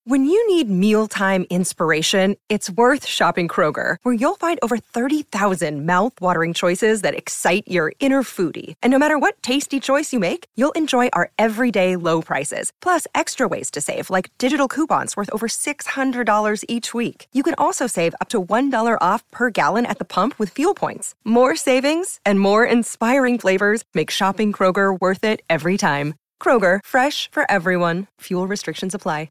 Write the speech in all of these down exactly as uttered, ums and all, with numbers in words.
When you need mealtime inspiration, it's worth shopping Kroger, where you'll find over thirty thousand mouth-watering choices that excite your inner foodie. And no matter what tasty choice you make, you'll enjoy our everyday low prices, plus extra ways to save, like digital coupons worth over six hundred dollars each week. You can also save up to one dollar off per gallon at the pump with fuel points. More savings and more inspiring flavors make shopping Kroger worth it every time. Kroger, fresh for everyone. Fuel restrictions apply.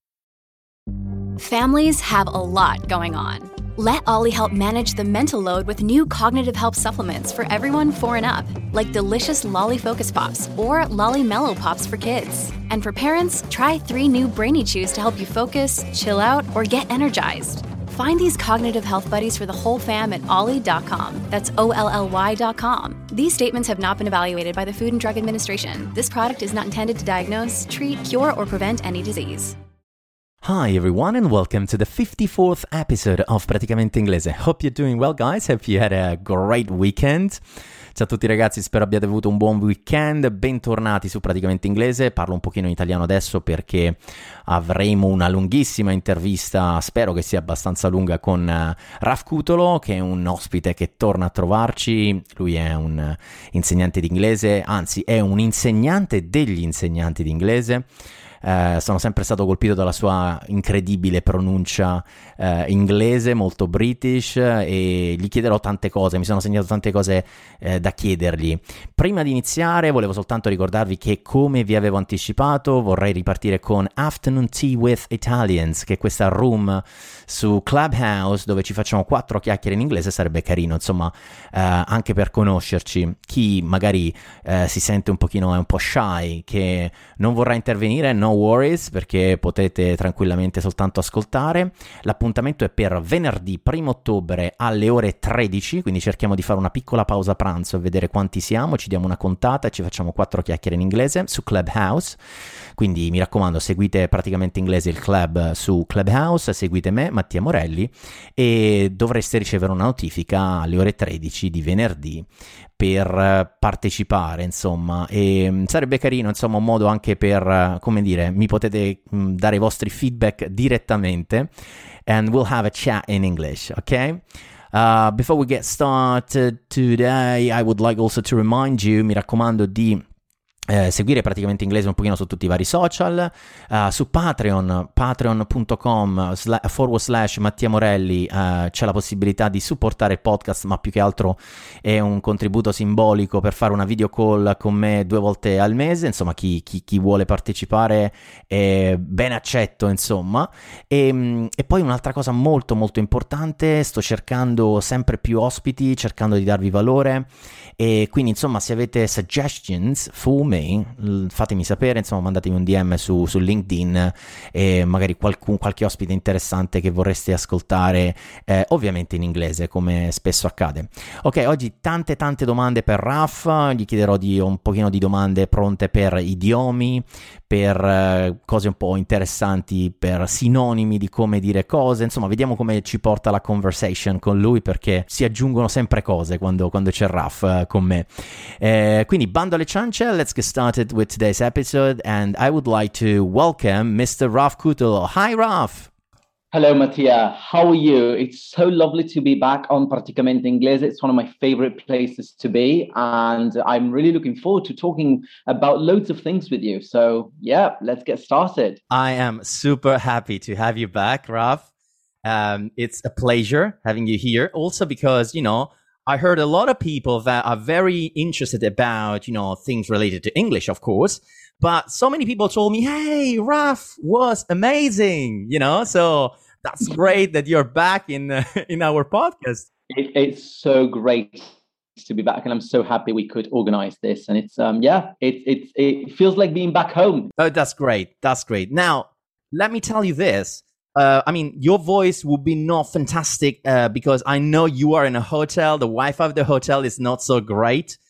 Families have a lot going on. Let Ollie help manage the mental load with new cognitive help supplements for everyone four and up, like delicious Lolly Focus Pops or Lolly Mellow Pops for kids. And for parents, try three new Brainy Chews to help you focus, chill out, or get energized. Find these cognitive health buddies for the whole fam at ollie dot com. That's O L L Y dot com. These statements have not been evaluated by the Food and Drug Administration. This product is not intended to diagnose, treat, cure, or prevent any disease. Hi everyone and welcome to the fifty-fourth episode of Praticamente Inglese. Hope you're doing well guys, hope you had a great weekend. Ciao a tutti ragazzi, spero abbiate avuto un buon weekend, bentornati su Praticamente Inglese. Parlo un pochino in italiano adesso perché avremo una lunghissima intervista, spero che sia abbastanza lunga, con uh, Raf Cutolo, che è un ospite che torna a trovarci. Lui è un uh, insegnante di inglese, anzi è un insegnante degli insegnanti di inglese. Uh, sono sempre stato colpito dalla sua incredibile pronuncia uh, inglese, molto british, e gli chiederò tante cose, mi sono segnato tante cose uh, da chiedergli. Prima di iniziare volevo soltanto ricordarvi che, come vi avevo anticipato, vorrei ripartire con Afternoon Tea with Italians, che è questa room su Clubhouse dove ci facciamo quattro chiacchiere in inglese. Sarebbe carino, insomma, uh, anche per conoscerci. Chi magari uh, si sente un pochino, è un po' shy, che non vorrà intervenire, no worries, perché potete tranquillamente soltanto ascoltare. L'appuntamento è per venerdì primo ottobre alle ore tredici, quindi cerchiamo di fare una piccola pausa pranzo e vedere quanti siamo, ci diamo una contata e ci facciamo quattro chiacchiere in inglese su Clubhouse. Quindi mi raccomando, seguite Praticamente Inglese, il club su Clubhouse, seguite me, Mattia Morelli, e dovreste ricevere una notifica alle ore tredici di venerdì per partecipare, insomma. E sarebbe carino, insomma, un modo anche per, come dire, mi potete mh, dare i vostri feedback direttamente, and we'll have a chat in English, ok? Uh, before we get started today, I would like also to remind you, mi raccomando, di Eh, seguire Praticamente Inglese un pochino su tutti i vari social, uh, su Patreon, patreon.com sla- forward slash Mattia Morelli, uh, c'è la possibilità di supportare il podcast, ma più che altro è un contributo simbolico per fare una video call con me due volte al mese. Insomma, chi, chi, chi vuole partecipare è ben accetto, insomma. E, e poi un'altra cosa molto molto importante, sto cercando sempre più ospiti, cercando di darvi valore, e quindi insomma, se avete suggestions for me, fatemi sapere, insomma, mandatemi un D M su, su LinkedIn, e magari qualcun, qualche ospite interessante che vorreste ascoltare, eh, ovviamente in inglese, come spesso accade. Ok, oggi tante tante domande per Raf, gli chiederò di un pochino di domande pronte per idiomi, per eh, cose un po' interessanti, per sinonimi di come dire cose, insomma vediamo come ci porta la conversation con lui, perché si aggiungono sempre cose quando, quando c'è Raf eh, con me. Eh, quindi bando alle ciance, let's get started with today's episode, and I would like to welcome Mister Raf Cutolo. Hi Raf! Hello Mattia, how are you? It's so lovely to be back on Praticamente Inglese. It's one of my favorite places to be, and I'm really looking forward to talking about loads of things with you. So yeah, let's get started. I am super happy to have you back, Raf. Um, it's a pleasure having you here, also because, you know, I heard a lot of people that are very interested about, you know, things related to English, of course. But so many people told me, hey, Raf was amazing, you know, so that's great that you're back in uh, in our podcast. It, it's so great to be back, and I'm so happy we could organize this. And it's, um, yeah, it, it, it feels like being back home. Oh, that's great. That's great. Now, let me tell you this. Uh, I mean, your voice would be not fantastic uh, because I know you are in a hotel. The Wi-Fi of the hotel is not so great.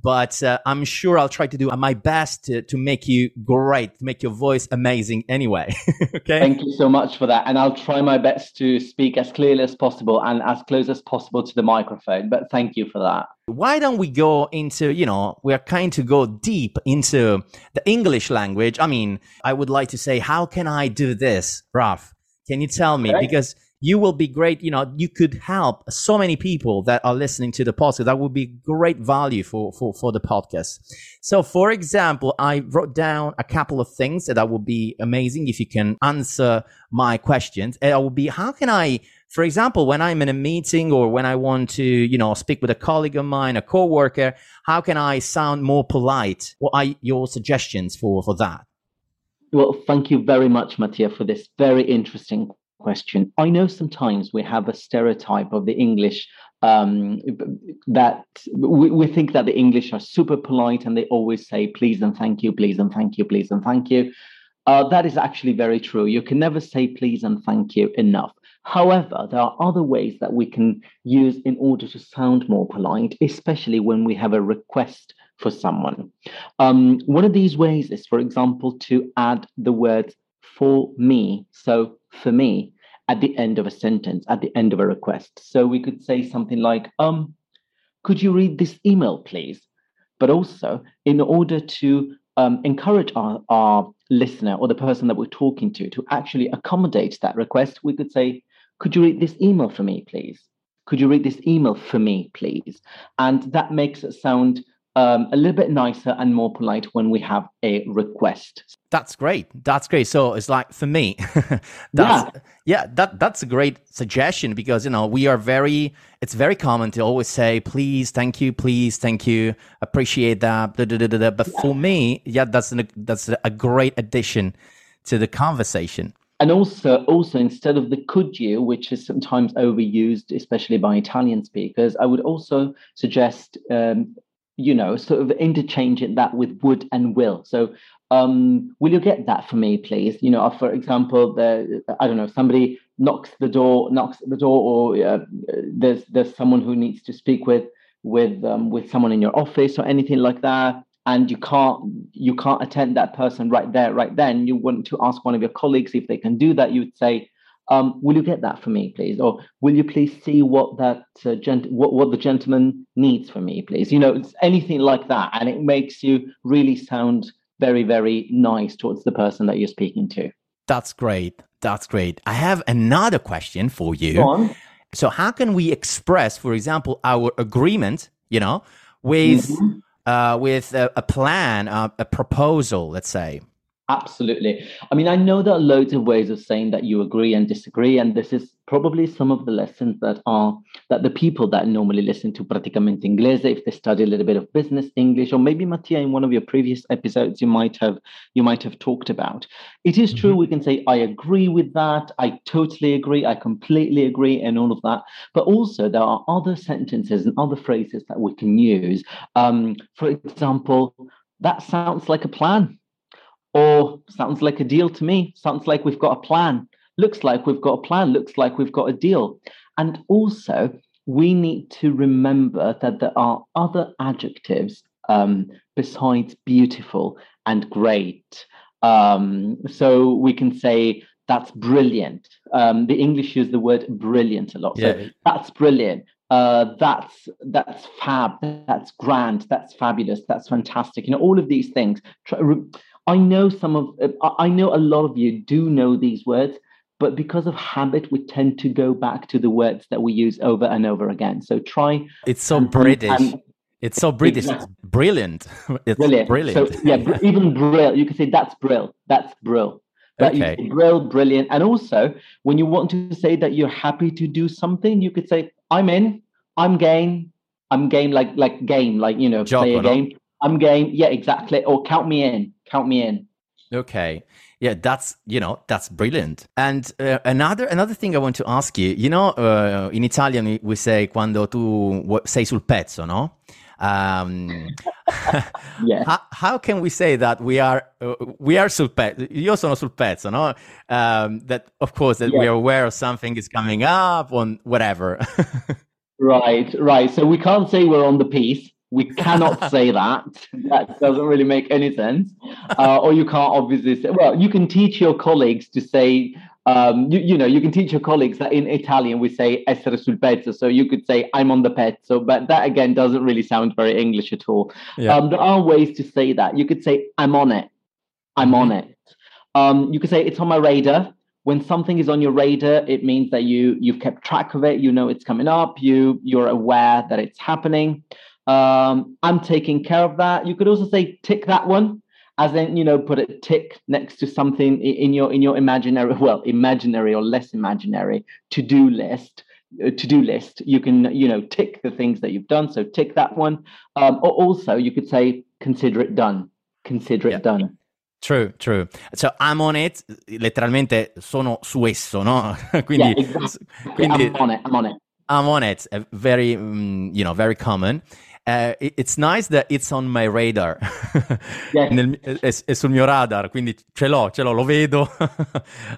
but uh, I'm sure I'll try to do my best to, to make you great, to make your voice amazing anyway. Okay. Thank you so much for that. And I'll try my best to speak as clearly as possible and as close as possible to the microphone. But thank you for that. Why don't we go into, you know, we're kind to go deep into the English language. I mean, I would like to say, how can I do this, Raf? Can you tell me? Okay. Because you will be great. You know, you could help so many people that are listening to the podcast. That would be great value for, for, for the podcast. So, for example, I wrote down a couple of things that would be amazing if you can answer my questions. It would be, how can I, for example, when I'm in a meeting or when I want to, you know, speak with a colleague of mine, a coworker, how can I sound more polite? What are your suggestions for, for that? Well, thank you very much, Mattia, for this very interesting question. I know sometimes we have a stereotype of the English um, that we, we think that the English are super polite and they always say please and thank you, please and thank you, please and thank you. Uh, that is actually very true. You can never say please and thank you enough. However, there are other ways that we can use in order to sound more polite, especially when we have a request for someone. Um, one of these ways is, for example, to add the words for me. So for me, at the end of a sentence, at the end of a request. So we could say something like, um, could you read this email, please? But also, in order to um, encourage our, our listener or the person that we're talking to to actually accommodate that request, we could say, could you read this email for me, please? Could you read this email for me, please? And that makes it sound Um, a little bit nicer and more polite when we have a request. That's great. That's great. So it's like for me, that's, yeah, yeah that, that's a great suggestion because, you know, we are very, it's very common to always say, please, thank you, please, thank you, appreciate that. Da, da, da, da, da. But yeah. For me, yeah, that's, an, that's a great addition to the conversation. And also, also instead of the could you, which is sometimes overused, especially by Italian speakers, I would also suggest, um, you know, sort of interchanging that with would and will. So, um, will you get that for me, please? You know, for example, the I don't know, somebody knocks the door, knocks at the door, or uh, there's there's someone who needs to speak with with um, with someone in your office or anything like that, and you can't you can't attend that person right there, right then. You want to ask one of your colleagues if they can do that. You would say, Um, will you get that for me, please? Or will you please see what that uh, gent- what, what the gentleman needs for me, please? You know, it's anything like that. And it makes you really sound very, very nice towards the person that you're speaking to. That's great. That's great. I have another question for you. Go on. So how can we express, for example, our agreement, you know, with, mm-hmm. uh, with a, a plan, uh, a proposal, let's say? Absolutely. I mean, I know there are loads of ways of saying that you agree and disagree, and this is probably some of the lessons that are that the people that normally listen to Praticamente Inglese, if they study a little bit of business English, or maybe Mattia, in one of your previous episodes, you might have you might have talked about. It is mm-hmm. true. We can say, I agree with that. I totally agree. I completely agree, and all of that. But also, there are other sentences and other phrases that we can use. Um, for example, that sounds like a plan. Or sounds like a deal to me. Sounds like we've got a plan. Looks like we've got a plan. Looks like we've got a deal. And also, we need to remember that there are other adjectives um, besides beautiful and great. Um, so we can say that's brilliant. Um, the English use the word brilliant a lot. Yeah. So that's brilliant. Uh, that's that's fab. That's grand. That's fabulous. That's fantastic. You know, all of these things. Try, I know some of, I know a lot of you do know these words, but because of habit, we tend to go back to the words that we use over and over again. So try. It's so and, British. And, it's so British. Exactly. It's brilliant. It's brilliant. brilliant. So yeah, even brill. You can say that's brill. That's brill. That okay. You brill, brilliant. And also, when you want to say that you're happy to do something, you could say, I'm in, I'm game, I'm game, like like game, like, you know, Gioco, play a no? game. I'm game. Yeah, exactly. Or count me in. Count me in. Okay. Yeah, that's, you know, that's brilliant. And uh, another another thing I want to ask you, you know, uh, in Italian we say quando tu sei sul pezzo, no? Um, yeah. how, how can we say that we are uh, we are sul pezzo? Io sono sul pezzo, no? Um, that of course that yeah. we are aware of something is coming up or whatever. Right, right. So we can't say we're on the piece. We cannot say that. That doesn't really make any sense. Uh, or you can't obviously say, well, you can teach your colleagues to say, um, you, you know, you can teach your colleagues that in Italian we say essere sul pezzo. So you could say, I'm on the pezzo, but that again doesn't really sound very English at all. Yeah. Um, there are ways to say that. You could say, I'm on it. I'm mm-hmm. on it. Um, you could say, it's on my radar. When something is on your radar, it means that you, you've kept track of it. You know it's coming up. You, you're aware that it's happening. Um, I'm taking care of that. You could also say tick that one, as in, you know, put a tick next to something in your in your imaginary, well, imaginary or less imaginary to-do list. Uh, to-do list. You can, you know, tick the things that you've done. So tick that one. Um, or also, you could say consider it done. Consider it yeah. done. True, true. So I'm on it, letteralmente sono su esso, no? quindi, yeah, exactly. quindi I'm on it. I'm on it. I'm on it. Uh, very, um, you know, very common. Uh, it, it's nice that it's on my radar. Yes. Nel, è, è sul mio radar, quindi ce l'ho, ce l'ho, lo vedo uh,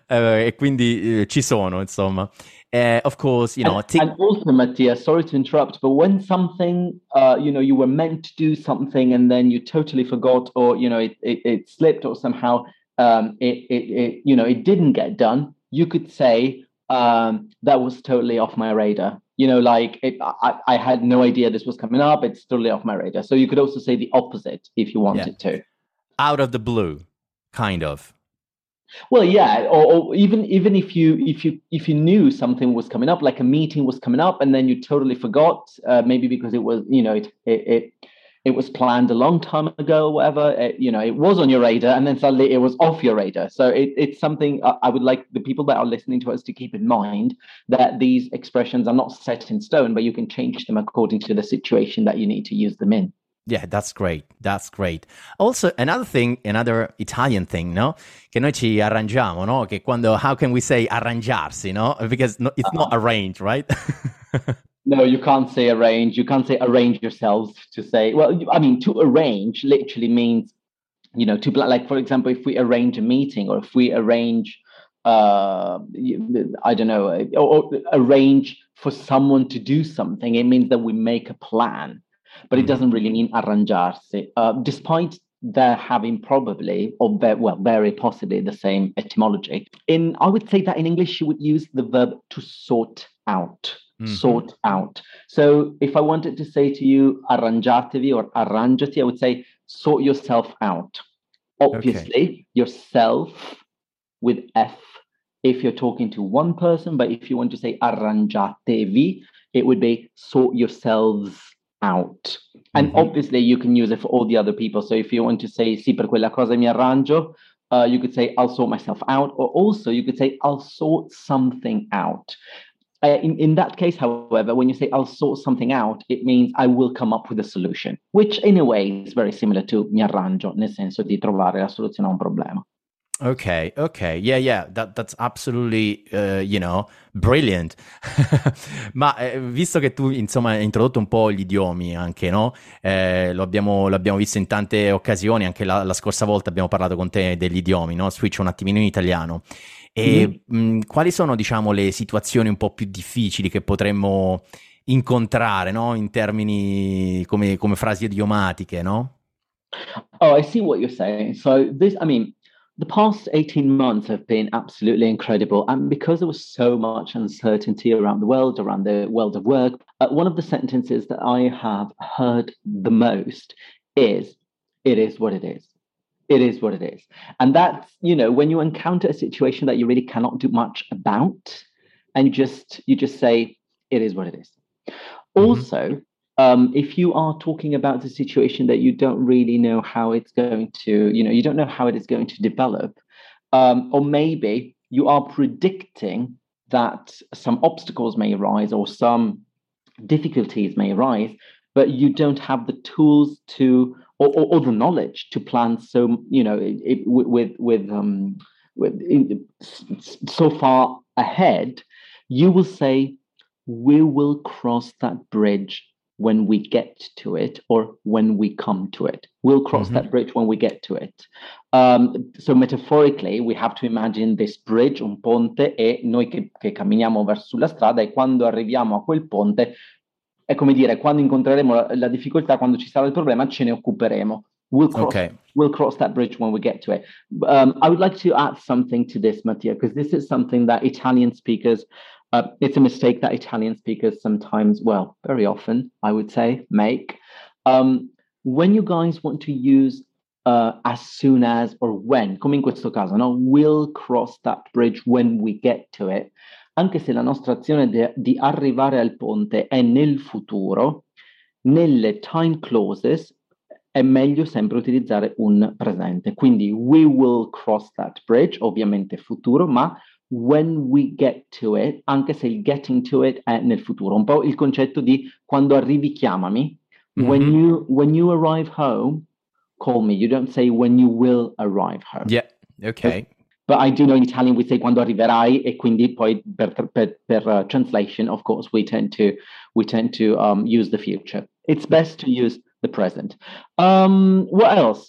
e quindi uh, ci sono, insomma. Uh, of course, you know. And, t- and also, Mattia, sorry to interrupt, but when something, uh, you know, you were meant to do something and then you totally forgot, or you know, it it, it slipped, or somehow um, it, it it you know it didn't get done, you could say um, that was totally off my radar. You know, like it, I I had no idea this was coming up. It's totally off my radar. So you could also say the opposite if you wanted yeah. to. Out of the blue, kind of. Well, yeah, or, or even even if you if you if you knew something was coming up, like a meeting was coming up, and then you totally forgot, uh, maybe because it was, you know, it it it, it was planned a long time ago, or whatever. It, you know, it was on your radar, and then suddenly it was off your radar. So it, it's something I, I would like the people that are listening to us to keep in mind, that these expressions are not set in stone, but you can change them according to the situation that you need to use them in. Yeah, that's great. That's great. Also, another thing, another Italian thing, no? Che noi ci arrangiamo, no? Che quando, how can we say arrangiarsi, no? Because no, it's uh-huh. not arranged, right? No, you can't say arrange. You can't say arrange yourselves to say, well, I mean, to arrange literally means, you know, to, like, for example, if we arrange a meeting, or if we arrange, uh, I don't know, or, or arrange for someone to do something, it means that we make a plan. But it doesn't really mean arrangiarsi, uh, despite there having probably, or very, well, very possibly the same etymology. In, I would say that in English, you would use the verb to sort out, mm-hmm. sort out. So if I wanted to say to you, arrangiatevi or arrangiati, I would say, sort yourself out. Obviously, okay. yourself with F, if you're talking to one person, but if you want to say arrangiatevi, it would be sort yourselves out. And mm-hmm. obviously you can use it for all the other people. So if you want to say sì per quella cosa mi arrangio, uh, you could say I'll sort myself out, or also you could say I'll sort something out. Uh, in, in that case, however, when you say I'll sort something out, it means I will come up with a solution, which in a way is very similar to mi arrangio, nel senso di trovare la soluzione a un problema. Okay, okay, yeah, yeah, that, that's absolutely, uh, you know, brilliant. Ma eh, visto che tu, insomma, hai introdotto un po' gli idiomi anche, no? Eh, lo abbiamo, l'abbiamo visto in tante occasioni, anche la, la scorsa volta abbiamo parlato con te degli idiomi, no? Switch un attimino in italiano. E mm-hmm. mh, quali sono, diciamo, le situazioni un po' più difficili che potremmo incontrare, no? In termini come, come frasi idiomatiche, no? Oh, I see what you're saying. So this, I mean... The past eighteen months have been absolutely incredible. And because there was so much uncertainty around the world, around the world of work, uh, one of the sentences that I have heard the most is, it is what it is. It is what it is. And that's, you know, when you encounter a situation that you really cannot do much about, and you just, you just say, it is what it is. Mm-hmm. Also, Um, if you are talking about a situation that you don't really know how it's going to, you know, you don't know how it is going to develop, um, or maybe you are predicting that some obstacles may arise or some difficulties may arise, but you don't have the tools to, or, or, or the knowledge to plan. So, you know, it, it, with with um, with in, so far ahead, you will say, we will cross that bridge when we get to it, or when we come to it. We'll cross mm-hmm. that bridge when we get to it. Um, so metaphorically, we have to imagine this bridge, un ponte, e noi che, che camminiamo verso la strada, e quando arriviamo a quel ponte, è come dire, quando incontreremo la, la difficoltà, quando ci sarà il problema, ce ne occuperemo. We'll cross, Okay. we'll cross that bridge when we get to it. Um, I would like to add something to this, Mattia, because this is something that Italian speakers, uh, it's a mistake that Italian speakers sometimes, well, very often, I would say, make. Um, when you guys want to use uh, as soon as or when, come in questo caso, no? We'll cross that bridge when we get to it. Anche se la nostra azione de- di arrivare al ponte è nel futuro, nelle time clauses è meglio sempre utilizzare un presente. Quindi we will cross that bridge, ovviamente futuro, ma when we get to it, anche se il getting to it è nel futuro. Un po' il concetto di quando arrivi chiamami. Mm-hmm. When you when you arrive home, call me. You don't say when you will arrive home. Yeah, okay. But I do know in Italian we say quando arriverai, e quindi poi per, per, per uh, translation, of course, we tend to we tend to um, use the future. It's best to use the present. Um, what else?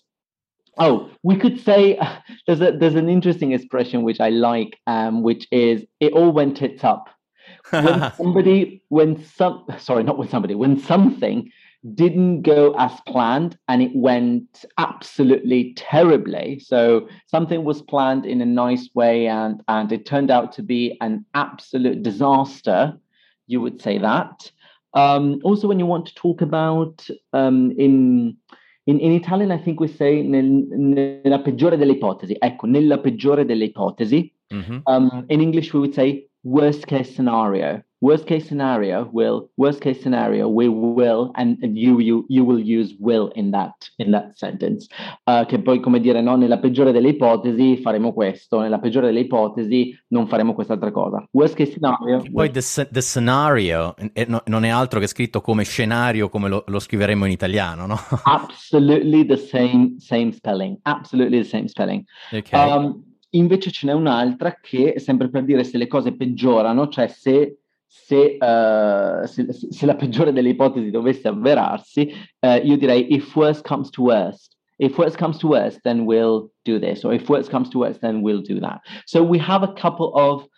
Oh, we could say uh, there's a there's an interesting expression which I like, um, which is it all went tits up. When somebody, when some, sorry, not when somebody, when something didn't go as planned and it went absolutely terribly. So something was planned in a nice way and and it turned out to be an absolute disaster. You would say that. Um, also, when you want to talk about um, in, in in Italian, I think we say nel, nella peggiore delle ipotesi. Ecco, nella peggiore delle ipotesi. Mm-hmm. Um, in English, we would say worst case scenario. Worst case scenario will. Worst case scenario we will, and, and you you you will use will in that in that sentence. Uh, che poi come dire, no, nella peggiore delle ipotesi faremo questo, nella peggiore delle ipotesi non faremo quest'altra cosa. Worst case scenario. Poi the, the scenario eh, no, non è altro che scritto come scenario, come lo, lo scriveremo in italiano, no? Absolutely the same same spelling. Absolutely the same spelling. Okay. Um, invece ce n'è un'altra che sempre per dire se le cose peggiorano, cioè se Se, uh, se, se la peggiore delle ipotesi dovesse avverarsi, uh, io direi if worst comes to worst. If worst comes to worst, then we'll do this. Or if worst comes to worst, then we'll do that. So we have a couple of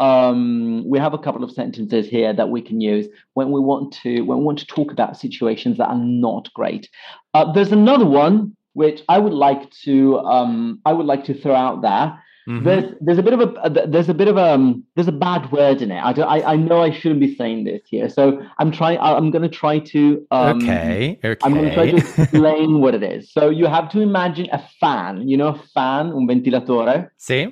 um, we have a couple of sentences here that we can use when we want to when we want to talk about situations that are not great. Uh, there's another one which I would like to um, I would like to throw out there. Mm-hmm. There's there's a bit of a there's a bit of a um, there's a bad word in it. I, don't, I I know I shouldn't be saying this here, so I'm trying. I'm going to try to. Um, okay. Okay. I'm going to try to explain what it is. So you have to imagine a fan. You know, a fan, un ventilatore. Sì.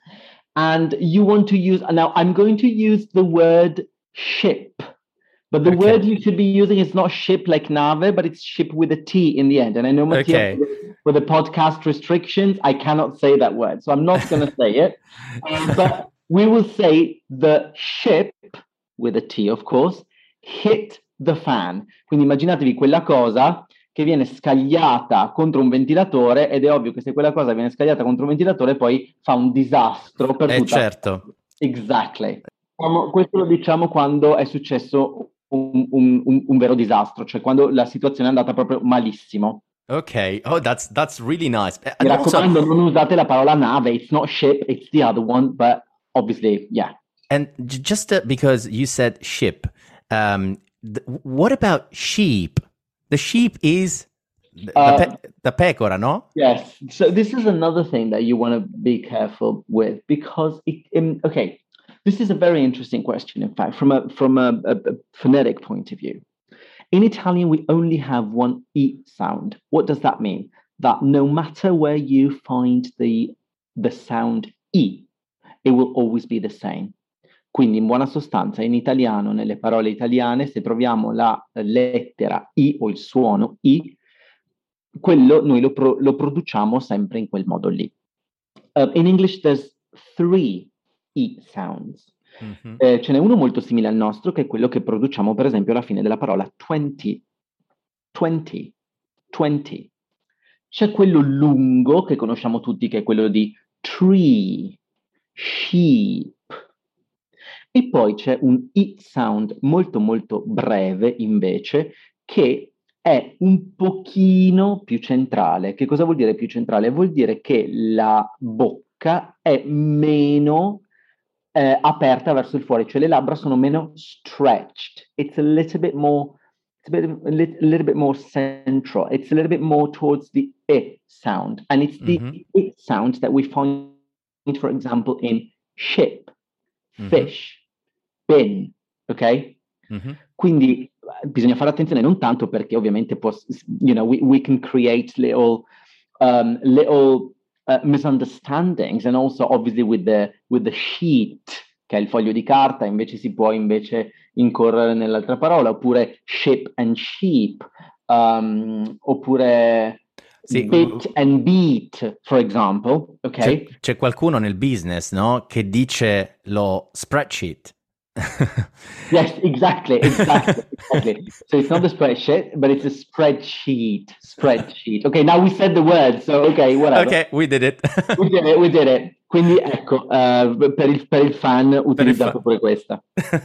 And you want to use now. I'm going to use the word ship. But the okay. word you should be using is not ship like nave, but it's ship with a T in the end. And I know, Mattia, okay. with the podcast restrictions, I cannot say that word. So I'm not going to say it. Um, but we will say the ship, with a T, of course, hit the fan. Quindi immaginatevi quella cosa che viene scagliata contro un ventilatore, ed è ovvio che se quella cosa viene scagliata contro un ventilatore poi fa un disastro per eh, tutta... certo. Exactly. Questo lo diciamo quando è successo Un, un, un, un vero disastro, cioè quando la situazione è andata proprio malissimo. Ok, oh, that's that's really nice. Mi raccomando, non usate la parola nave. It's not ship, it's the other one, but obviously, yeah. And just uh, because you said ship, um, th- what about sheep? The sheep is the, uh, the, pe- the pecora, no? Yes. So this is another thing that you want to be careful with because, it, in, okay, this is a very interesting question, in fact, from a from a, a, a phonetic point of view. In Italian, we only have one E sound. What does that mean? That no matter where you find the, the sound E, it will always be the same. Quindi, in buona sostanza, in italiano, nelle parole italiane, se troviamo la lettera I o il suono I, quello noi lo, pro, lo produciamo sempre in quel modo lì. Uh, in English, there's three E sounds. Mm-hmm. Eh, ce n'è uno molto simile al nostro, che è quello che produciamo per esempio alla fine della parola twenty. twenty. twenty. C'è quello lungo che conosciamo tutti, che è quello di tree, sheep. E poi c'è un I sound molto molto breve invece, che è un pochino più centrale. Che cosa vuol dire più centrale? Vuol dire che la bocca è meno eh, aperta verso il fuori, cioè le labbra sono meno stretched. It's a little bit more, it's a, bit, a, little, a little bit more central. It's a little bit more towards the I sound. And it's the mm-hmm. I sound that we find, for example, in ship, mm-hmm. fish, bin, ok? Mm-hmm. Quindi bisogna fare attenzione, non tanto perché ovviamente può, you know, we, we can create little, um, little uh, misunderstandings, and also obviously with the, with the sheet, che è il foglio di carta, invece si può invece incorrere nell'altra parola, oppure ship and sheep, um, oppure sì. Bit and beat, for example, ok? C'è, c'è qualcuno nel business, no, che dice lo spreadsheet. Yes, exactly, exactly, exactly. So it's not a spreadsheet, but it's a spreadsheet. Spreadsheet. Okay, now we said the word, so okay, whatever. Okay, we did it. we did it, we did it. Quindi ecco, uh, per, il, per il fan utilizzato pure questa.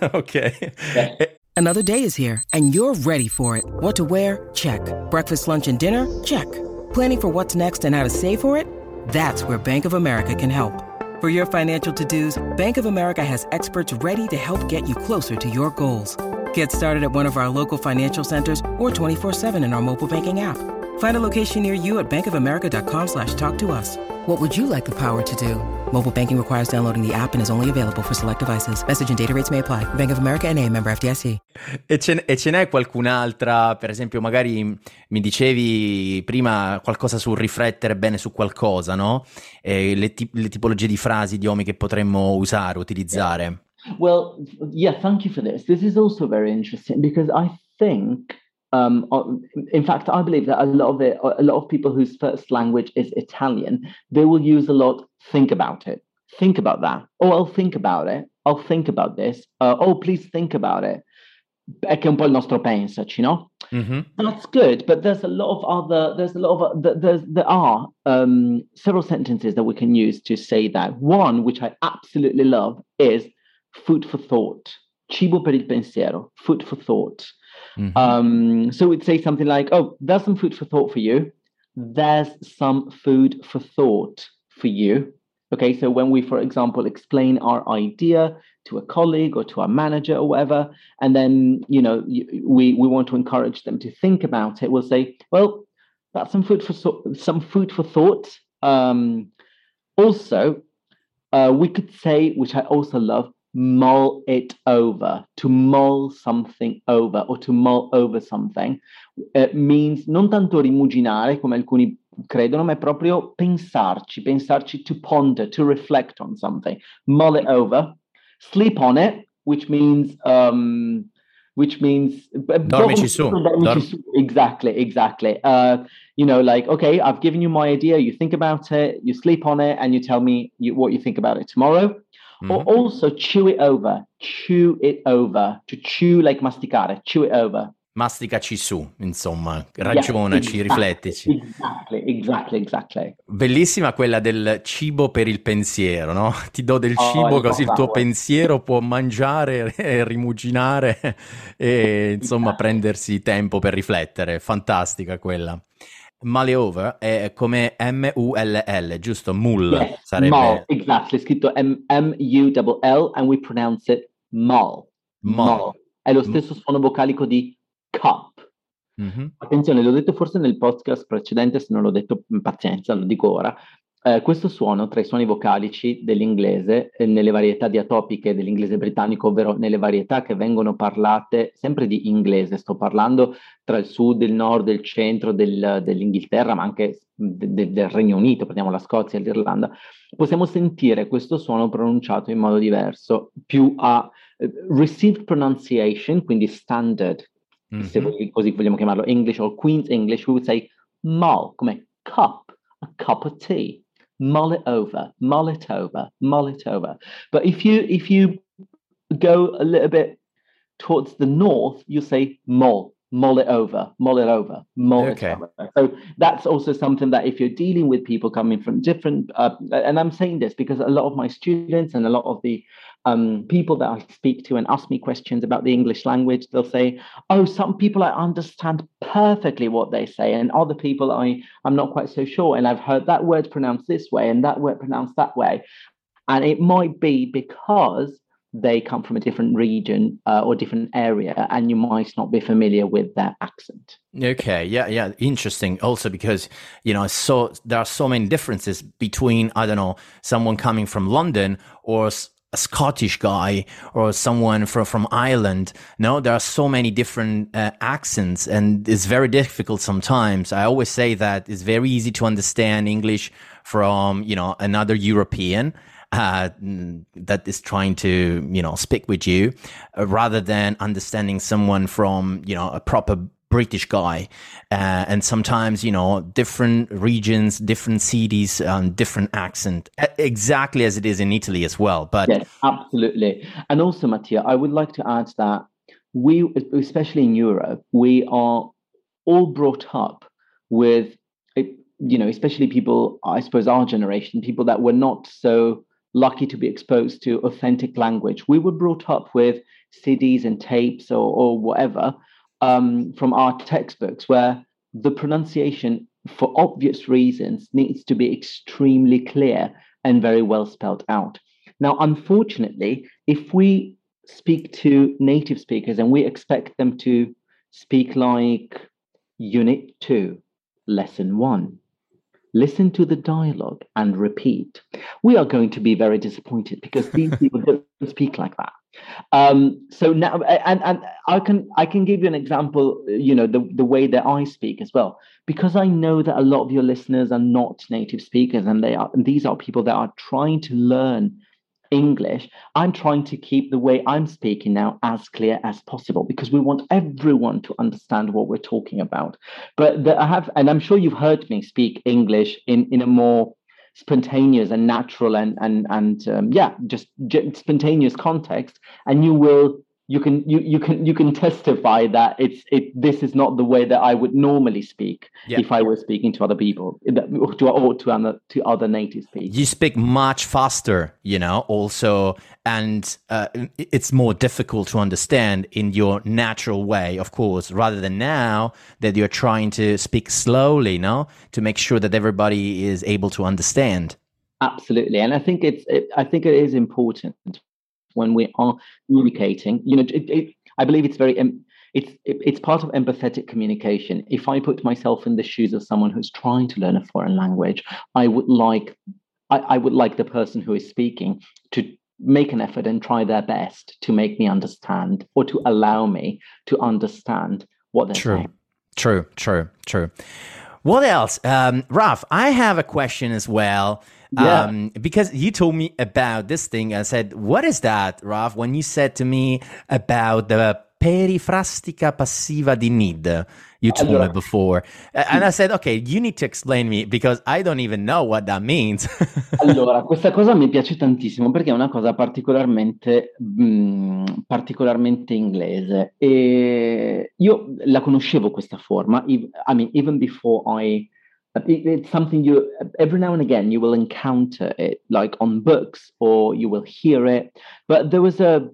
Ok. Yeah. Another day is here, and you're ready for it. What to wear? Check. Breakfast, lunch, and dinner? Check. Planning for what's next and how to save for it? That's where Bank of America can help. For your financial to-dos, Bank of America has experts ready to help get you closer to your goals. Get started at one of our local financial centers or twenty-four seven in our mobile banking app. Find a location near you at bankofamerica.com slash talk to us. What would you like the power to do? Mobile banking requires downloading the app and is only available for select devices. Message and data rates may apply. Bank of America N A, member F D I C. E ce, e ce n'è qualcun'altra, per esempio, magari mi dicevi prima qualcosa sul riflettere bene su qualcosa, no? Eh, le, ti- le tipologie di frasi, idiomi che potremmo usare, utilizzare. Yeah. Well, yeah, thank you for this. This is also very interesting because I think Um, in fact, I believe that a lot of it, a lot of people whose first language is Italian, they will use a lot, think about it, think about that. Oh, I'll think about it. I'll think about this. Uh, oh, please think about it. È che un po' il nostro pensaci, no? Mm-hmm. That's good, but there's a lot of other, there's a lot of, there's, there are um, several sentences that we can use to say that. One, which I absolutely love, is food for thought. Cibo per il pensiero, food for thought. Mm-hmm. Um, so we'd say something like, oh, there's some food for thought for you. There's some food for thought for you. Okay, so when we, for example, explain our idea to a colleague or to our manager or whatever, and then, you know, we, we want to encourage them to think about it, we'll say, well, that's some food for some food for thought. Um, also, uh, we could say, which I also love, mull it over. To mull something over or to mull over something uh, means non tanto rimuginare come alcuni credono, ma è proprio pensarci, pensarci, to ponder, to reflect on something. Mull it over. Sleep on it, which means um, which means dormici su. Dormici su. Exactly, exactly. Uh, you know, like, okay, I've given you my idea, you think about it, you sleep on it, and you tell me you, what you think about it tomorrow. Mm-hmm. Or also chew it over, chew it over, to chew like masticare, chew it over. Masticaci su, insomma, ragionaci, yeah, exactly, riflettici. Exactly, exactly, exactly. Bellissima quella del cibo per il pensiero, no? Ti do del cibo oh, così il tuo pensiero può mangiare e rimuginare e insomma exactly. prendersi tempo per riflettere. Fantastica quella. Mull over è come M U L L, giusto? Mull yes, sarebbe. Mull, exactly, scritto M U L L and we pronounce it mull. Mull. Mull. È lo stesso suono vocalico di cup. Mm-hmm. Attenzione, l'ho detto forse nel podcast precedente, se non l'ho detto, pazienza, lo dico ora. Eh, questo suono tra i suoni vocalici dell'inglese eh, nelle varietà diatopiche dell'inglese britannico, ovvero nelle varietà che vengono parlate sempre di inglese, sto parlando tra il sud, il nord, il centro del, dell'Inghilterra, ma anche de, de, del Regno Unito, prendiamo la Scozia e l'Irlanda, possiamo sentire questo suono pronunciato in modo diverso, più a uh, received pronunciation, quindi standard, mm-hmm. se voi, così vogliamo chiamarlo, English or Queen's English, we would say mull, come cup, a cup of tea. Mull it over, mull it over, mull it over. But if you if you go a little bit towards the north, you say mull, mull it over, mull it over, mull okay. it over. So that's also something that if you're dealing with people coming from different, uh, and I'm saying this because a lot of my students and a lot of the um, people that I speak to and ask me questions about the English language, they'll say, oh, some people I understand perfectly what they say, and other people I, I'm not quite so sure. And I've heard that word pronounced this way and that word pronounced that way. And it might be because they come from a different region uh, or different area, and you might not be familiar with their accent. Okay, yeah, yeah, interesting. Also because, you know, so there are so many differences between, I don't know, someone coming from London or a Scottish guy or someone from, from Ireland. No, there are so many different uh, accents, and it's very difficult sometimes. I always say that it's very easy to understand English from, you know, another European Uh, that is trying to, you know, speak with you, uh, rather than understanding someone from, you know, a proper British guy. Uh, and sometimes, you know, different regions, different cities, um, different accent, exactly as it is in Italy as well. But yes, absolutely. And also, Mattia, I would like to add that we, especially in Europe, we are all brought up with, you know, especially people, I suppose our generation, people that were not so lucky to be exposed to authentic language. We were brought up with C Ds and tapes or, or whatever um, from our textbooks, where the pronunciation, for obvious reasons, needs to be extremely clear and very well spelled out. Now, unfortunately, if we speak to native speakers and we expect them to speak like Unit two, Lesson one, listen to the dialogue and repeat, we are going to be very disappointed because these people don't speak like that. Um, so now, and, and I can I can give you an example, you know, the, the way that I speak as well, because I know that a lot of your listeners are not native speakers, and they are, and these are people that are trying to learn English. I'm trying to keep the way I'm speaking now as clear as possible, because we want everyone to understand what we're talking about. But the, I have, and I'm sure you've heard me speak English in, in a more spontaneous and natural and and and um, yeah, just j- spontaneous context, and you will. You can you you can you can testify that it's it. This is not the way that I would normally speak yeah. if I were speaking to other people, to or to other to other native speakers. You speak much faster, you know. Also, and uh, it's more difficult to understand in your natural way, of course, rather than now that you're trying to speak slowly, no, to make sure that everybody is able to understand. Absolutely, and I think it's it, I think it is important. When we are communicating, you know, it, it, I believe it's very, it's it, it's part of empathetic communication. If I put myself in the shoes of someone who's trying to learn a foreign language, I would like, I, I would like the person who is speaking to make an effort and try their best to make me understand, or to allow me to understand what they're true. saying. True, true, true. What else? Um, Raf, I have a question as well. Yeah. Um, because you told me about this thing. I said, what is that, Raf? When you said to me about the perifrastica passiva di need, you told allora, me before. And I said, okay, you need to explain me, because I don't even know what that means. Allora, questa cosa mi piace tantissimo perché è una cosa particolarmente, mh, particolarmente inglese. E io la conoscevo questa forma, I mean, even before I... It's something you, every now and again, you will encounter it, like on books, or you will hear it. But there was a,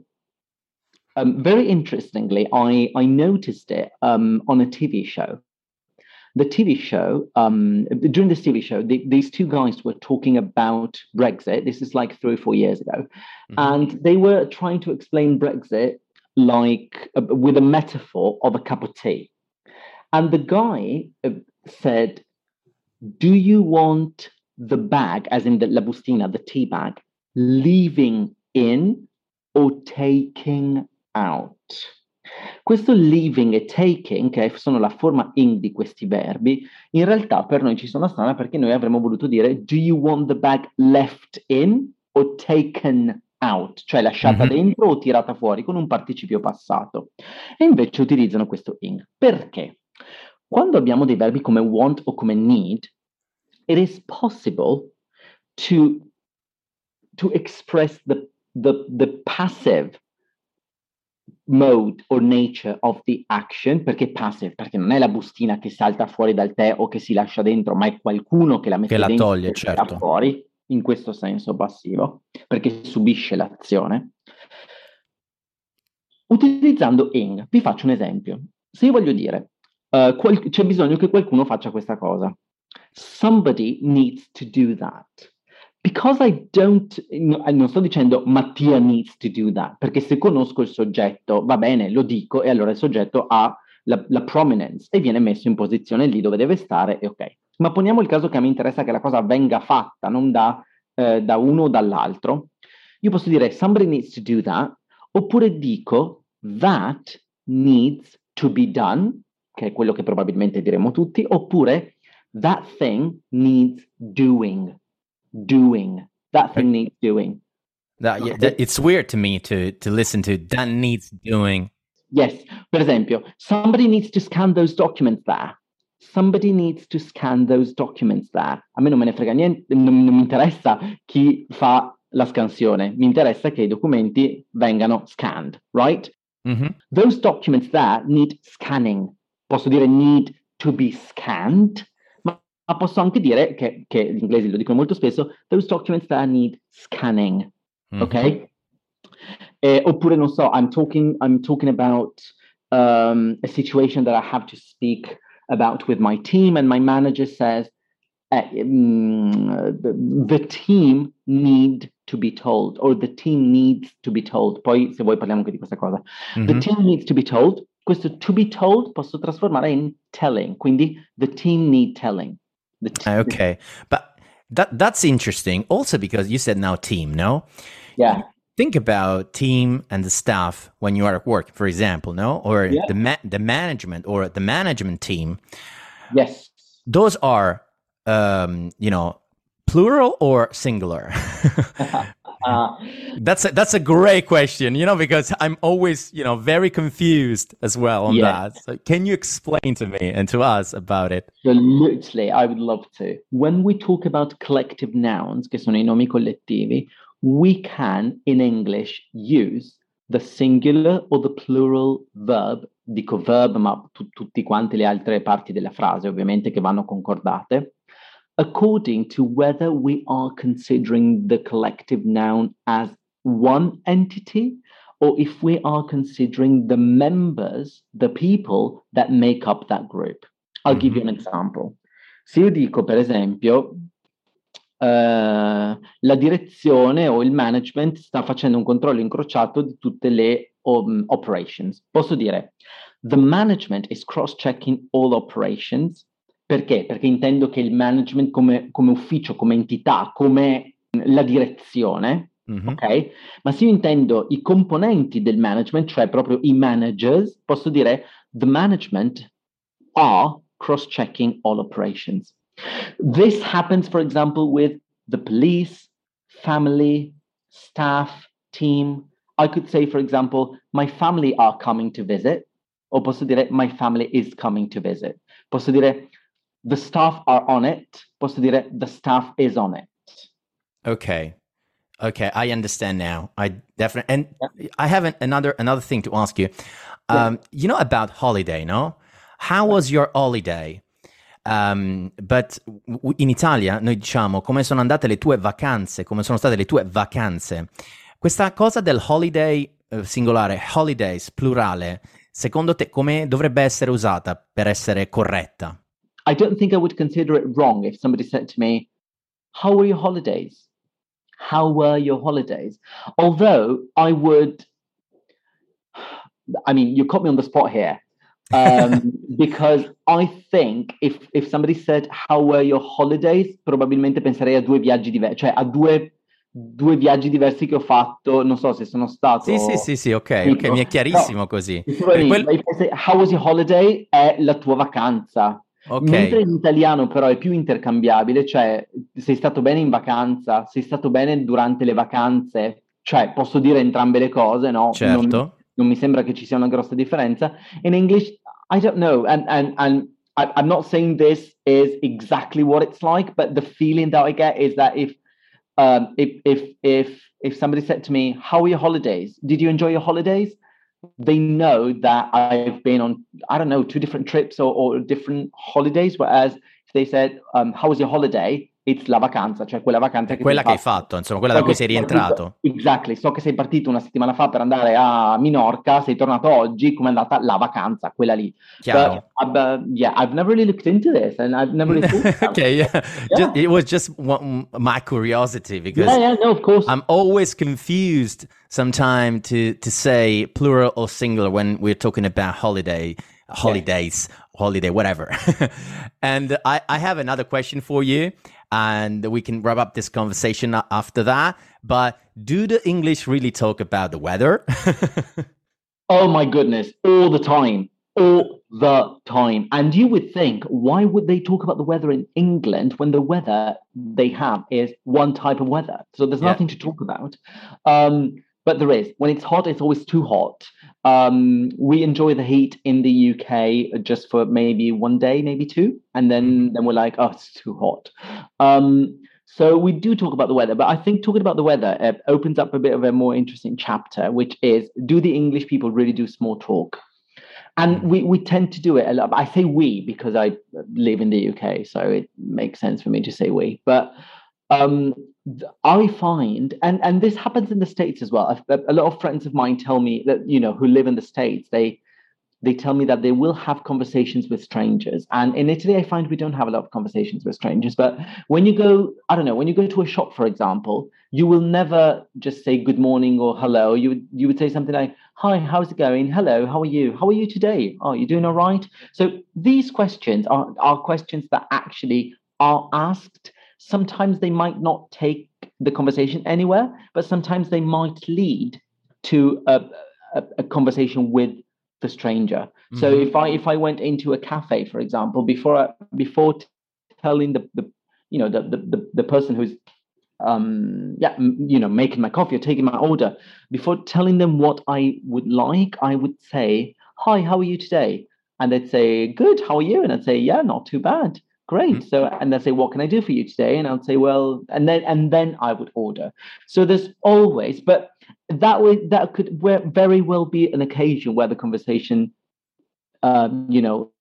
um, very interestingly, I, I noticed it um, on a T V show. The T V show, um, during this T V show, the, these two guys were talking about Brexit. This is like three or four years ago. Mm-hmm. And they were trying to explain Brexit like uh, with a metaphor of a cup of tea. And the guy uh, said, do you want the bag, as in the la bustina, the tea bag, leaving in or taking out? Questo leaving e taking, che sono la forma in di questi verbi, in realtà per noi ci sono strana, perché noi avremmo voluto dire do you want the bag left in or taken out? Cioè lasciata mm-hmm. dentro o tirata fuori, con un participio passato. E invece utilizzano questo in. Perché? Quando abbiamo dei verbi come want o come need, it is possible to, to express the, the, the passive mode or nature of the action. Perché passive? Perché non è la bustina che salta fuori dal tè o che si lascia dentro, ma è qualcuno che la mette che dentro la toglie, e certo. tira fuori, in questo senso passivo, perché subisce l'azione. Utilizzando ing, vi faccio un esempio. Se io voglio dire Uh, qual- c'è bisogno che qualcuno faccia questa cosa. Somebody needs to do that. because I don't, non sto dicendo Mattia needs to do that, perché se conosco il soggetto, va bene, lo dico, e allora il soggetto ha la, la prominence e viene messo in posizione lì dove deve stare, e ok. Ma poniamo il caso che mi interessa che la cosa venga fatta, non da, eh, da uno o dall'altro. Io posso dire somebody needs to do that, oppure dico that needs to be done, che è quello che probabilmente diremo tutti, oppure that thing needs doing. Doing. That thing needs doing. That, yeah, that, it's weird to me to, to listen to that needs doing. Yes. Per esempio, somebody needs to scan those documents there. Somebody needs to scan those documents there. A me non me ne frega niente, non, non mi interessa chi fa la scansione. Mi interessa che i documenti vengano scanned, right? Mm-hmm. Those documents there need scanning. Posso dire need to be scanned, ma, ma posso anche dire che, che gli inglesi lo dicono molto spesso, those documents there need scanning. Mm-hmm. Ok? Eh, oppure, non so, I'm talking, I'm talking about um, a situation that I have to speak about with my team, and my manager says, eh, um, the, the team need to be told, or the team needs to be told. Poi, se vuoi, parliamo anche di questa cosa. Mm-hmm. The team needs to be told. Questo to be told posso trasformare in telling, quindi the team need telling. The te- okay, but that that's interesting also because you said now team, no? Yeah. Think about team and the staff when you are at work, for example, no? Or yeah. the ma- the management or the management team. Yes. Those are, um, you know, plural or singular? uh, that's a, that's a great question, you know, because I'm always, you know, very confused as well on yeah. that. So can you explain to me and to us about it? Absolutely, I would love to. When we talk about collective nouns, che sono i nomi collettivi, we can, in English, use the singular or the plural verb, dico verb, ma t- tutti quanti le altre parti della frase, ovviamente, che vanno concordate, according to whether we are considering the collective noun as one entity, or if we are considering the members, the people that make up that group. I'll mm-hmm. give you an example. Se io dico, per esempio, Uh, la direzione o il management sta facendo un controllo incrociato di tutte le um, operations. Posso dire, the management is cross-checking all operations. Perché? Perché intendo che il management come, come ufficio, come entità, come la direzione, mm-hmm. ok? Ma se io intendo i componenti del management, cioè proprio i managers, posso dire, the management are cross-checking all operations. This happens, for example, with the police, family, staff, team. I could say, for example, my family are coming to visit. O posso dire, my family is coming to visit. Posso dire, the staff are on it. Posso dire, the staff is on it. Okay. Okay, I understand now. I definitely, and yeah. I have an, another another thing to ask you. Um, yeah. You know about holiday, no? How was your holiday? Um, but in Italia noi diciamo come sono andate le tue vacanze, come sono state le tue vacanze. Questa cosa del holiday eh, singolare, holidays plurale, secondo te come dovrebbe essere usata per essere corretta? I don't think I would consider it wrong if somebody said to me, how were your holidays? How were your holidays? Although I would, I mean, you caught me on the spot here. um, because I think if, if somebody said, how were your holidays? Probabilmente penserei a due viaggi diversi, cioè a due, due viaggi diversi che ho fatto, non so se sono stato... Sì, sì, sì, sì, ok, ok, mi è chiarissimo no, così. Per quel... How was your holiday? È la tua vacanza. Okay. Mentre in italiano però è più intercambiabile, cioè sei stato bene in vacanza, sei stato bene durante le vacanze, cioè posso dire entrambe le cose, no? Certo. Non... Non mi sembra che ci sia una grossa differenza. In English, I don't know. And, and, and I, I'm not saying this is exactly what it's like, but the feeling that I get is that if, um, if, if, if, if somebody said to me, how were your holidays? Did you enjoy your holidays? They know that I've been on, I don't know, two different trips or, or different holidays. Whereas if they said, um, how was your holiday? it's la vacanza, cioè quella vacanza che quella hai che hai fatto. fatto, insomma, quella da So cui che sei sei rientrato. partito, exactly, so che sei partito una settimana fa per andare a Minorca, sei tornato oggi, come è andata la vacanza, quella lì. Chiaro. But, uh, yeah, I've never really looked into this and I've never really thought about Okay, it. yeah. Yeah. Just, it was just one, my curiosity because Yeah, yeah, no, of course. I'm always confused sometimes to to say plural or singular when we're talking about holiday, holidays, yeah. holiday, whatever. And I, I have another question for you, and we can wrap up this conversation after that. But do the English really talk about the weather? Oh my goodness, all the time. All the time. And you would think, why would they talk about the weather in England when the weather they have is one type of weather? So there's Yeah. nothing to talk about. Um, but there is. When it's hot, it's always too hot. Um, we enjoy the heat in the U K just for maybe one day, maybe two. And then, then we're like, oh, it's too hot. Um, so we do talk about the weather, but I think talking about the weather uh, opens up a bit of a more interesting chapter, which is, do the English people really do small talk? And we, we tend to do it a lot. I say we because I live in the U K, so it makes sense for me to say we. But um, I find, and, and this happens in the States as well. I've, a lot of friends of mine tell me that, you know, who live in the States, they they tell me that they will have conversations with strangers. And in Italy, I find we don't have a lot of conversations with strangers. But when you go, I don't know, when you go to a shop, for example, you will never just say good morning or hello. You would, you would say something like, hi, how's it going? Hello, how are you? How are you today? Oh, you doing all right? So these questions are, are questions that actually are asked. Sometimes they might not take the conversation anywhere, but sometimes they might lead to a, a, a conversation with the stranger. Mm-hmm. So if I if I went into a cafe, for example, before I, before telling the, the you know the, the the person who's um yeah you know making my coffee or taking my order, before telling them what I would like, I would say, hi, how are you today? And they'd say, good, how are you? And I'd say, yeah, not too bad. Great. Mm-hmm. So, and they'd say, what can I do for you today? And I'd say, well, and then and then I would order. So there's always, but that way that could very well be an occasion where the conversation, um, you know,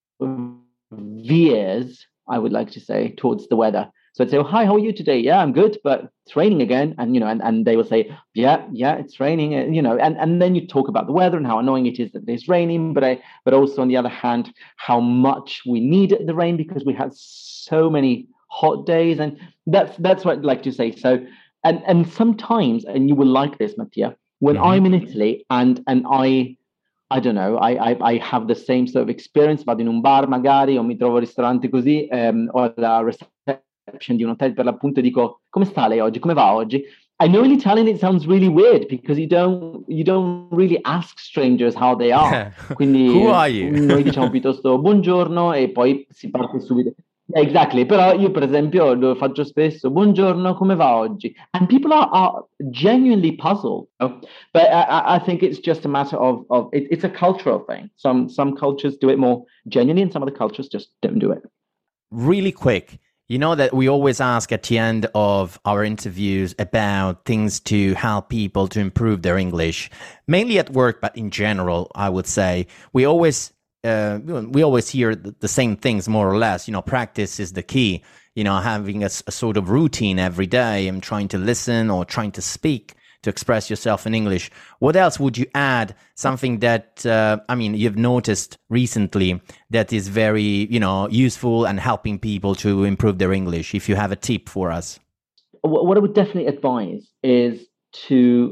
veers, I would like to say, towards the weather. So I'd say, oh, hi, how are you today? Yeah, I'm good, but it's raining again. And, you know, and, and they will say, yeah, yeah, it's raining. And, you know, and, and then you talk about the weather and how annoying it is that it's raining. But I, but also on the other hand, how much we need the rain because we had so many hot days. And that's, that's what I'd like to say. So, and, and sometimes, and you will like this, Mattia, when mm-hmm. I'm in Italy and, and I, I don't know, I, I, I have the same sort of experience, vado in un bar magari, o mi trovo al ristorante così, um, o alla reception di un hotel per l'appunto, dico, come sta lei oggi? Come va oggi? I know in Italian it sounds really weird because you don't you don't really ask strangers how they are. Quindi who are you? Noi diciamo piuttosto buongiorno e poi si parte subito. Exactly, però io per esempio lo faccio spesso, buongiorno, come va oggi? And people are, are genuinely puzzled, you know? But I, I think it's just a matter of, of it, it's a cultural thing. Some some cultures do it more genuinely and some other cultures just don't do it. Really quick, you know that we always ask at the end of our interviews about things to help people to improve their English, mainly at work, but in general, I would say. We always Uh, we always hear the, the same things more or less. You know, practice is the key. You know, having a, a sort of routine every day and trying to listen or trying to speak to express yourself in English. What else would you add? Something that, uh, I mean, you've noticed recently that is very, you know, useful and helping people to improve their English. If you have a tip for us. What I would definitely advise is to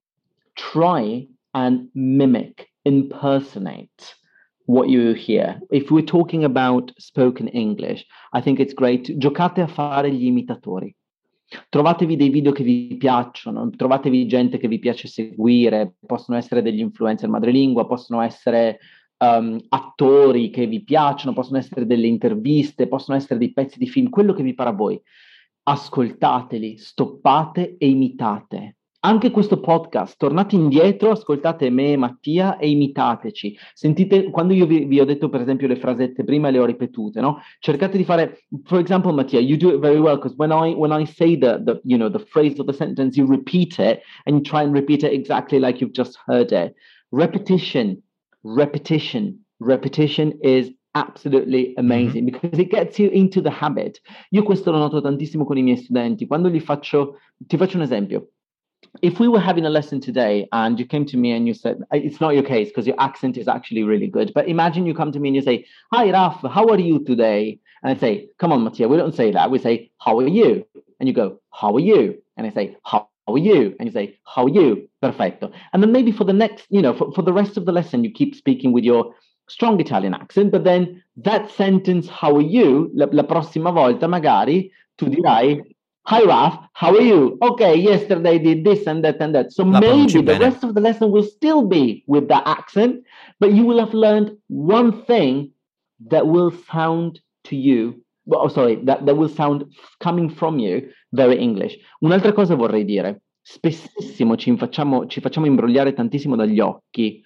try and mimic, impersonate what you hear. If we're talking about spoken English, I think it's great. Giocate a fare gli imitatori. Trovatevi dei video che vi piacciono, trovatevi gente che vi piace seguire, possono essere degli influencer madrelingua, possono essere um, attori che vi piacciono, possono essere delle interviste, possono essere dei pezzi di film, quello che vi pare a voi. Ascoltateli, stoppate e imitate. Anche questo podcast, tornate indietro, ascoltate me e Mattia e imitateci. Sentite, quando io vi, vi ho detto per esempio le frasette prima, le ho ripetute, no? Cercate di fare, for example, Mattia, you do it very well because when I when I say the, the you know the phrase or the sentence, you repeat it and you try and repeat it exactly like you've just heard it. Repetition, repetition, repetition is absolutely amazing mm-hmm. because it gets you into the habit. Io questo lo noto tantissimo con i miei studenti. Quando gli faccio, ti faccio un esempio. If we were having a lesson today and you came to me and you said, it's not your case because your accent is actually really good, but imagine you come to me and you say, hi, Raf, how are you today? And I say, come on, Mattia, we don't say that. We say, how are you? And you go, how are you? And I say, how are you? And you say, how are you? Perfetto. And then maybe for the next, you know, for, for the rest of the lesson, you keep speaking with your strong Italian accent, but then that sentence, how are you? La, la prossima volta magari tu dirai, hi, Raf, how are you? Okay, yesterday I did this and that and that. So La maybe the bene. rest of the lesson will still be with that accent, but you will have learned one thing that will sound to you, well, oh, sorry, that, that will sound coming from you very English. Un'altra cosa vorrei dire, spessissimo ci facciamo, ci facciamo imbrogliare tantissimo dagli occhi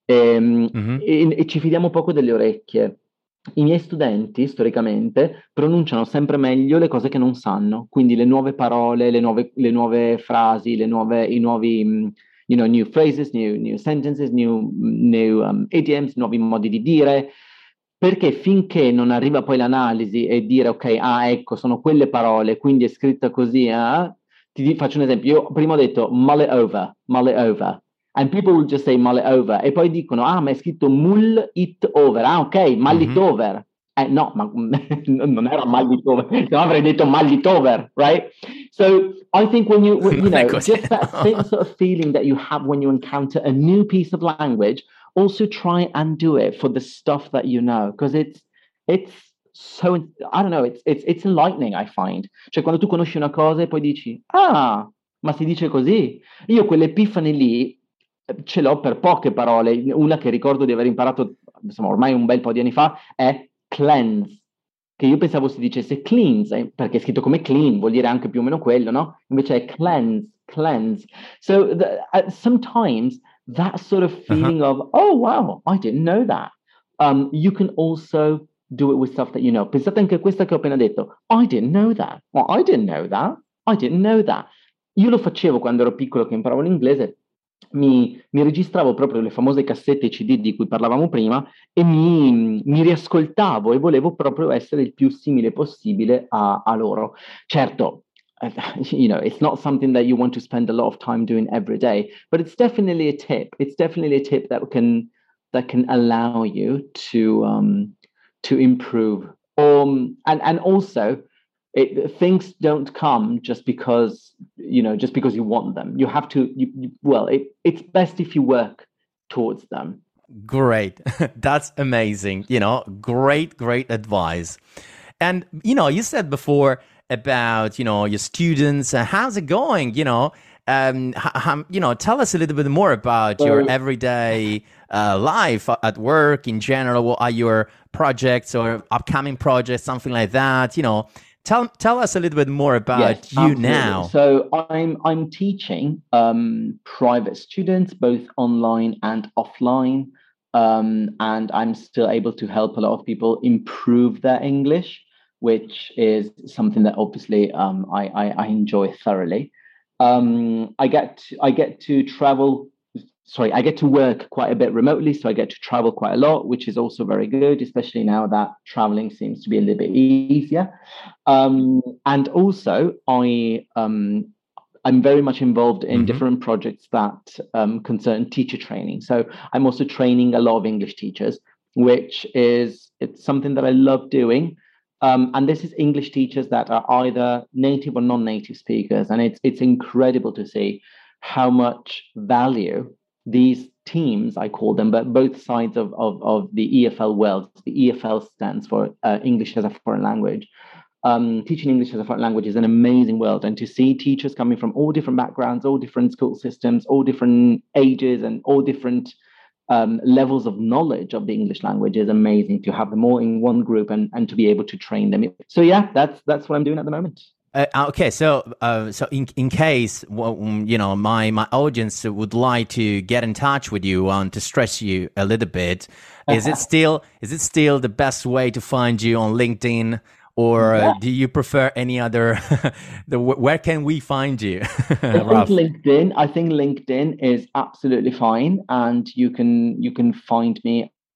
ehm, mm-hmm. e, e ci fidiamo poco delle orecchie. I miei studenti, storicamente, pronunciano sempre meglio le cose che non sanno, quindi le nuove parole, le nuove, le nuove frasi, le nuove, i nuovi, you know, new phrases, new, new sentences, new, new um, idioms, nuovi modi di dire, perché finché non arriva poi l'analisi e dire, ok, ah, ecco, sono quelle parole, quindi è scritta così, eh? Ti faccio un esempio, io prima ho detto mull it over, mull it over. And people will just say mull it over. E poi dicono, ah, ma è scritto mull it over. Ah, ok, mull mm-hmm. it over. Eh, no, ma non era mull it over. No, avrei detto mull it over, right? So I think when you, when, you know, just that same sort of feeling that you have when you encounter a new piece of language, also try and do it for the stuff that you know. Because it's, it's so, I don't know, it's, it's, it's enlightening, I find. Cioè, quando tu conosci una cosa e poi dici, ah, ma si dice così? Io quell'epifani lì ce l'ho per poche parole. Una che ricordo di aver imparato, insomma, ormai un bel po' di anni fa, è cleanse, che io pensavo si dicesse cleanse, eh, perché è scritto come clean, vuol dire anche più o meno quello, no? Invece è cleanse, cleanse. So the, uh, sometimes that sort of feeling uh-huh. of, oh wow, I didn't know that. Um, you can also do it with stuff that you know. Pensate anche a questa che ho appena detto. I didn't know that. Well, I didn't know that. I didn't know that. Io lo facevo quando ero piccolo che imparavo l'inglese. Mi, mi registravo proprio le famose cassette C D di cui parlavamo prima e mi, mi riascoltavo e volevo proprio essere il più simile possibile a, a loro. Certo, you know, it's not something that you want to spend a lot of time doing every day, but it's definitely a tip. It's definitely a tip that can that can allow you to um, to improve. Um, and and also. It, things don't come just because, you know, just because you want them. You have to, you, you, well, it, it's best if you work towards them. Great. That's amazing. You know, great, great advice. And, you know, you said before about, you know, your students. Uh, how's it going? You know, um, h- you know, tell us a little bit more about so, your everyday uh, life at work in general. What are your projects or upcoming projects, something like that, you know? Tell tell us a little bit more about yes, you absolutely. now. So I'm I'm teaching um, private students, both online and offline, um, and I'm still able to help a lot of people improve their English, which is something that obviously um, I, I I enjoy thoroughly. Um, I get to, I get to travel. Sorry, I get to work quite a bit remotely, so I get to travel quite a lot, which is also very good, especially now that traveling seems to be a little bit easier. Um, and also, I, um, I'm very much involved in mm-hmm. different projects that um, concern teacher training. So I'm also training a lot of English teachers, which is it's something that I love doing. Um, and this is English teachers that are either native or non-native speakers. And it's it's incredible to see how much value these teams, I call them, but both sides of, of, of the E F L world. The E F L stands for uh, English as a Foreign Language. Um, teaching English as a foreign language is an amazing world. And to see teachers coming from all different backgrounds, all different school systems, all different ages, and all different um, levels of knowledge of the English language is amazing. To have them all in one group and, and to be able to train them. So yeah, that's that's what I'm doing at the moment. Uh, okay, so uh, so in in case you know my my audience would like to get in touch with you and to stress you a little bit, is it still is it still the best way to find you on LinkedIn, or yeah. uh, do you prefer any other? the where can we find you? I think LinkedIn. I think LinkedIn is absolutely fine, and you can you can find me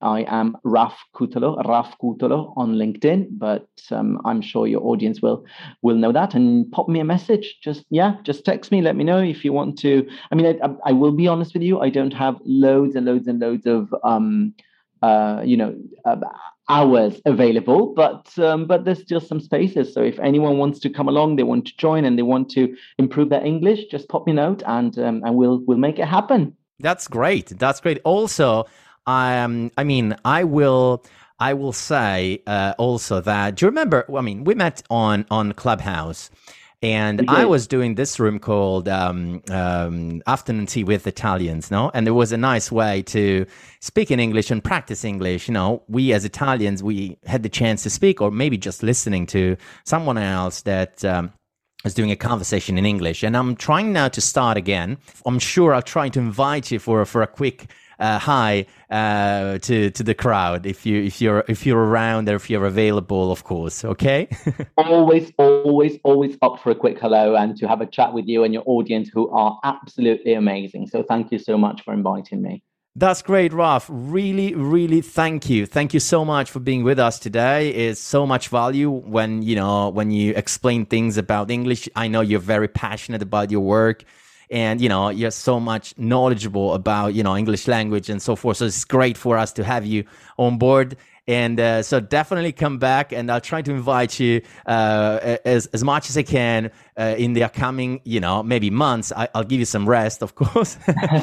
I am Raf Kutalo, Raf Kutalo on LinkedIn, but um, I'm sure your audience will will know that. And pop me a message. Just yeah, just text me. Let me know if you want to. I mean, I, I will be honest with you. I don't have loads and loads and loads of um, uh, you know. Uh, hours available, but um, but there's still some spaces. So if anyone wants to come along, they want to join and they want to improve their English, just pop me a note and um, and we'll we'll make it happen. That's great. That's great. Also, um, I mean, I will I will say uh, also that, do you remember? I mean, we met on on Clubhouse. And okay. I was doing this room called um, um, Afternoon Tea with Italians, no? And there was a nice way to speak in English and practice English. You know, we as Italians, we had the chance to speak, or maybe just listening to someone else that um, was doing a conversation in English. And I'm trying now to start again. I'm sure I'll try to invite you for for a quick uh, hi uh, to to the crowd if you if you're if you're around or if you're available, of course. Okay. always, always, always up for a quick hello and to have a chat with you and your audience, who are absolutely amazing. So thank you so much for inviting me. That's great, Raf. Really, really thank you. Thank you so much for being with us today. It's so much value when, you know, when you explain things about English. I know you're very passionate about your work. And, you know, you're so much knowledgeable about, you know, English language and so forth. So it's great for us to have you on board. And uh, so definitely come back, and I'll try to invite you uh, as as much as I can uh, in the upcoming, you know, maybe months. I, I'll give you some rest, of course.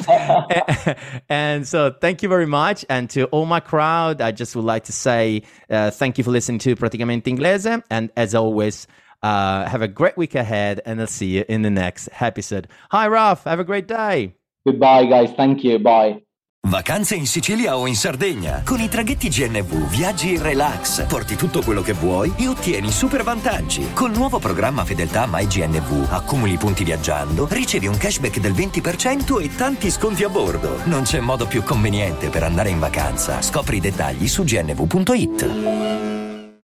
And so thank you very much. And to all my crowd, I just would like to say uh, thank you for listening to Praticamente Inglese. And as always, Uh, have a great week ahead, and I'll see you in the next episode. Hi, Raf. Have a great day. Goodbye, guys. Thank you. Bye. Vacanze in Sicilia o in Sardegna. Con i traghetti G N V viaggi in relax, porti tutto quello che vuoi e ottieni super vantaggi. Col nuovo programma Fedeltà MyGNV accumuli punti viaggiando, ricevi un cashback del venti per cento e tanti sconti a bordo. Non c'è modo più conveniente per andare in vacanza. Scopri i dettagli su gnv punto it.